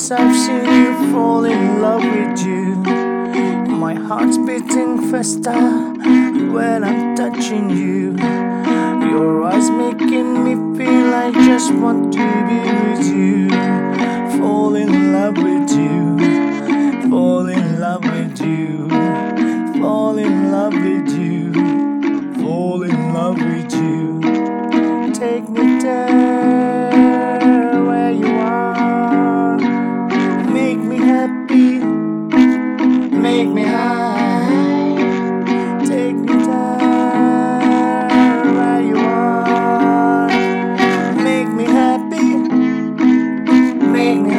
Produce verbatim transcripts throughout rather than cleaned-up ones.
Since I've seen you, fall in love with you. My heart's beating faster when I'm touching you. Your eyes making me feel I just want to be with you. Fall in love with you. Fall in love with you. Fall in love with you. Fall in love with you. Take me there where you are. Make me happy. Make me high. Take me there where you are. Make me happy. Make me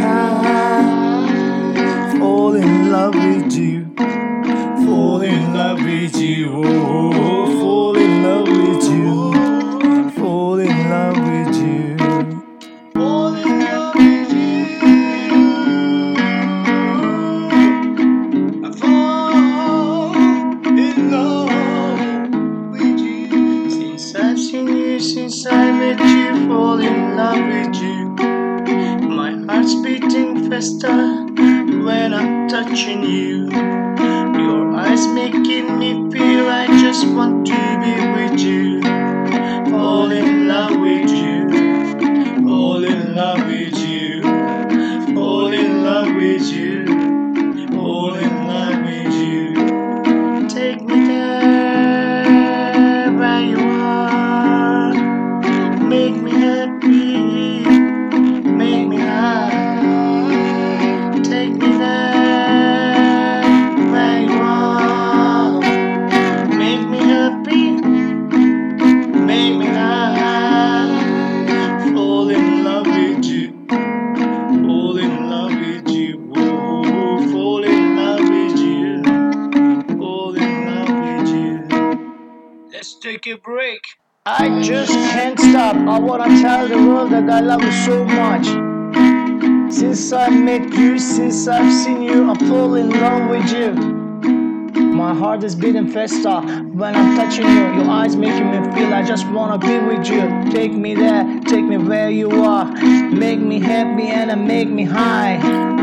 high. Fall in love with you. Fall in love with you. Oh, fall in love with you. Fall in love with you. Fall in love with you. I fall in love with you. Since I've seen you, since I met you, fall in love with you. My heart's beating faster when I'm touching you. Your eyes making me feel I just want to be with you. Fall in love with you. Fall in love with you. Fall in love with you. Fall in love with you. Take me there where you are. Make me happy. Make me high. Take me there where you are. Make me happy. Make me high. Fall in love with you. Fall in love with you. Oh, fall in love with you. Fall in love with you. Let's take a break. I just can't stop. I wanna tell the world that I love you so much. Since I met you, since I've seen you, I fall in love with you. My heart is beating faster when I'm touching you. Your eyes making me feel I just wanna be with you. Take me there, take me where you are. Make me happy and make me high.